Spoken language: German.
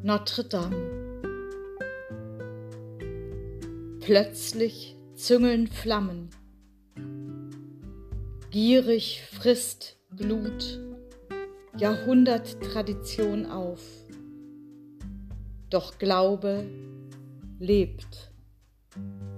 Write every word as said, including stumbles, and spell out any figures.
Notre Dame. Plötzlich züngeln Flammen, gierig frisst Glut Jahrhunderttradition auf, doch Glaube lebt.